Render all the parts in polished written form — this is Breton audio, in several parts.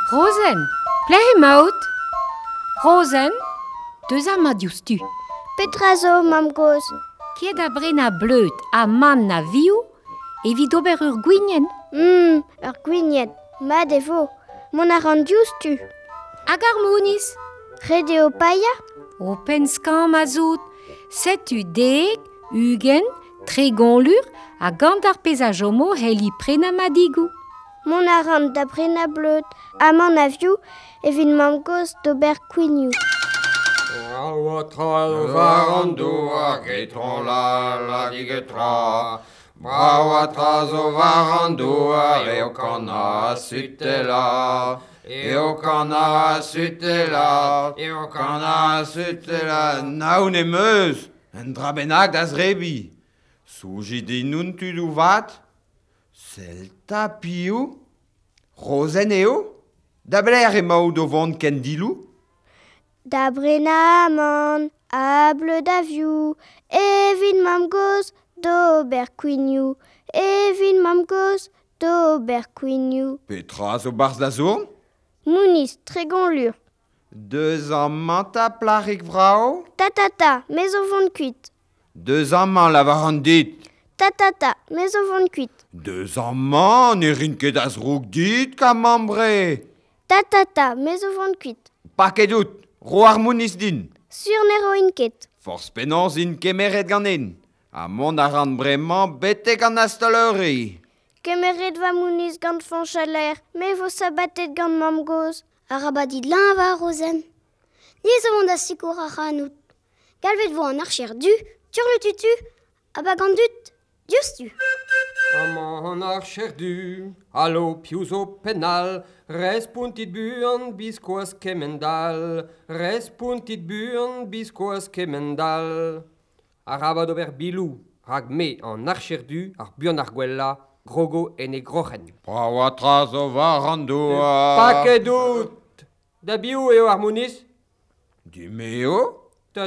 Rosen, plehemaut. Rosen, deus ma dioustu. Petra zo, mam goz. Kiet a brena bleut a man na viou, evit ober ur gwinien. Ur gwignet. Ma devo. Mon a ran diouztu. Hag ar mouniz. Rede o paia? O penskan ma zout. Setu deg, ugen, tregonlur, a gant ar pezaj homo heli prena ma digou. Mon a ran da brena bleut. A man a viou, evit mam goz d'ober kwignou. Brawatra o varando a getron la digetra. Brawatra zo varando a eo kana sutela. Eo kana sutela. Eo kana sutela. Naoun e meus, en drabenag das rebi. Souji di nun tu du vat? Selta piou? Rosen eo? Da bler e maou do vont ken dilou? Da brena man, a bleu da viou, evit mam goz d'ober kwignou, evit mam goz d'ober kwignou. Petra zo barz da zourn? Mouniz, tregonlur. Deus an manta plarik vrao? Ta, mes o vont kuit. Deus an man lavar an dit? Ta, mes o vont kuit. Deus an man e rin ket az roug dit ka mambre? Ta, mes o vont kuit. Pa ket out, ro ar mouniz din. Sur nero inket. Forz penons in kemeret ganen. A mon a ran bremañ bete gant astaleuri. Kemeret va mouniz gant fan chaler, me vo sabatet gant mam goz. Arabadid lan va, Rosen. Ni zo vont da sikour a ranout. Galvet vo an archer du, tur le tutu, a ba gant dut, diouztu. Amman ar cherdu, allo piouzo penal, respuntit buan biskoaz kemendal, respuntit buan biskoaz kemendal. Arabad ober bilou, rag me an ar cherdu, ar buan ar gwella, grogo en e grochen. Brawatra zo varando a... Paket out! Da biou eo ar mouniz? Du meo? Ta,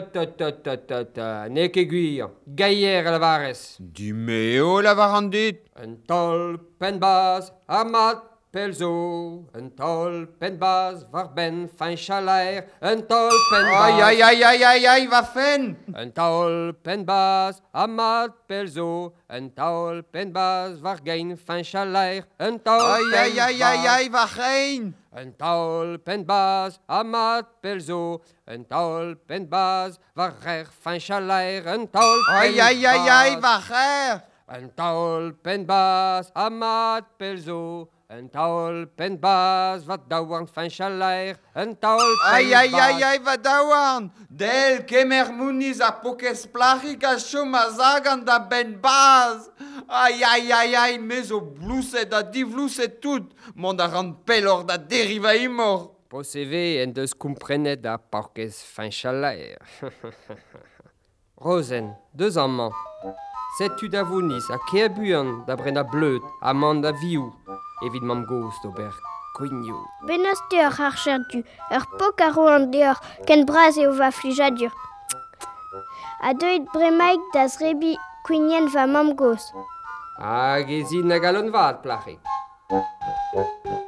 ne ket gwir, gaier a lavarez. Du meo lavar an dit? Un tol penbaz, amat pelzo. Un tol penbaz, var ben fin chalaer. Un tol penbaz... Ai, va fen! Un tol penbaz, amat pelzo. Un tol penbaz, var gain fin chalaer. Un tol penbaz... Ai, va rein! Un tol penbaz, amat pelzo. Un tol penbaz, var rer fin chalaer. Un tol penbaz... Ai, va rein! Un taol penbaz, amat pelzo. Un taol penbaz, va daouarn fin chalaer. Un taol penbaz... Ai, va daouarn! Del kemer mouniz a pokez plarik a chom a zagan da ben baz! Ai, me zo blouset da divlouset tout! Mont a ran pelor da deriva imor! Po CV en deus komprenet da porkez fin chalaer. Rosen, deus amman. Setu da vouniz a ke a buan da brena bleut a man da viou, evit mam goz d'ober kwignou. Benos deoc'h archer du, ur pok a ro an deoc'h, ken braz eo va flijadur. A deuit bremaik da zrebi kwignen va mam goz. Hag ezin a galon vat, plac'he.